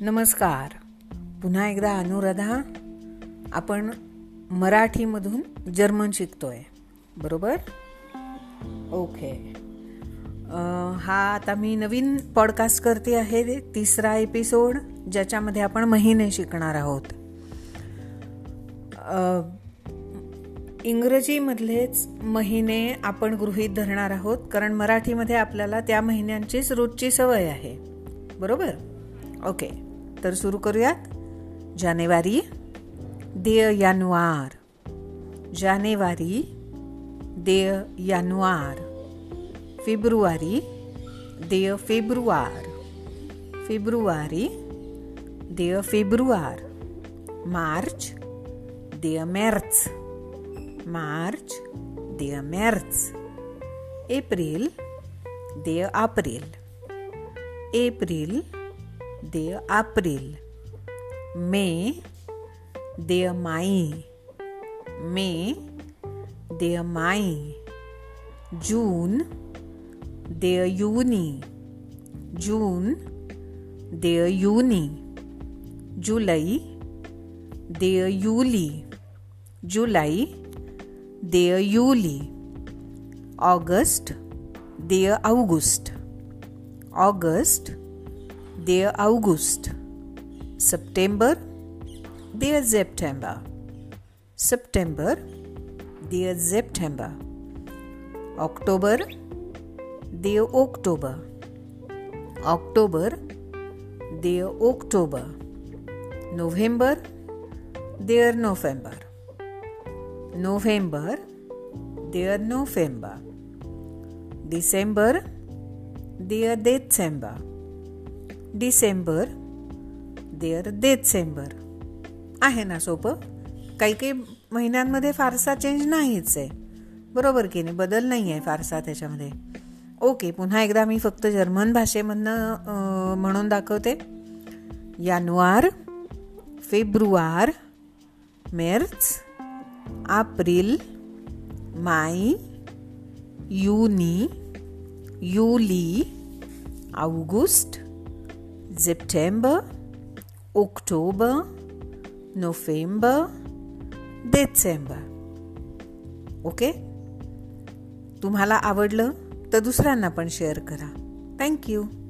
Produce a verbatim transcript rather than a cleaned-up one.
नमस्कार. पुन्हा एकदा अनुराधा. आपण मराठीमधून जर्मन शिकतोय, बरोबर? ओके. हा आता मी नवीन पॉडकास्ट करते आहे, तिसरा एपिसोड, ज्याच्यामध्ये आपण महिने शिकणार आहोत. इंग्रजीमधलेच महिने आपण गृहीत धरणार आहोत, कारण मराठीमध्ये आपल्याला त्या महिन्यांचीच रोजची सवय आहे, बरोबर? ओके, तर सुरू करूयात. जानेवारी, देय जानेवार. जानेवारी, देय जानेवार. फेब्रुवारी, देय फेब्रुवार. फेब्रुवारी, देय फेब्रुवार. मार्च, देय मॅर्च. मार्च, देय मॅर्च. एप्रिल, देय एप्रिल. एप्रिल, देय एप्रिल. मे, देय माई. मे, देय माई. जून, देय जूनी. जून, देय जूनी. जुलै, देय जुली. जुलै, देय जुली. ऑगस्ट, देय ऑगस्ट. ऑगस्ट, देय ऑगस्ट. सप्टेंबर, देय सप्टेंबर. सप्टेंबर, देय सप्टेंबर. ऑक्टोबर, देय ऑक्टोबर. ऑक्टोबर, देय ऑक्टोबर. नोव्हेंबर, देय नोव्हेंबर. नोव्हेंबर, देय नोव्हेंबर. डिसेंबर, देय डिसेंबर. डिसेंबर, देयर डिसेंबर. आहे ना सोपं? काही काही महिन्यांमध्ये फारसा चेंज नाहीच आहे, बरोबर की नाही? बदल नाही आहे फारसा त्याच्यामध्ये. ओके, पुन्हा एकदा मी फक्त जर्मन भाषेमधनं म्हणून दाखवते. जानेवार, फेब्रुवार, मार्च, एप्रिल, माई, जूनी, जुली, August, September, October, November, December. Okay, तुम्हाला आवडलं तर दुसऱ्यांना पण शेअर करा. थँक्यू.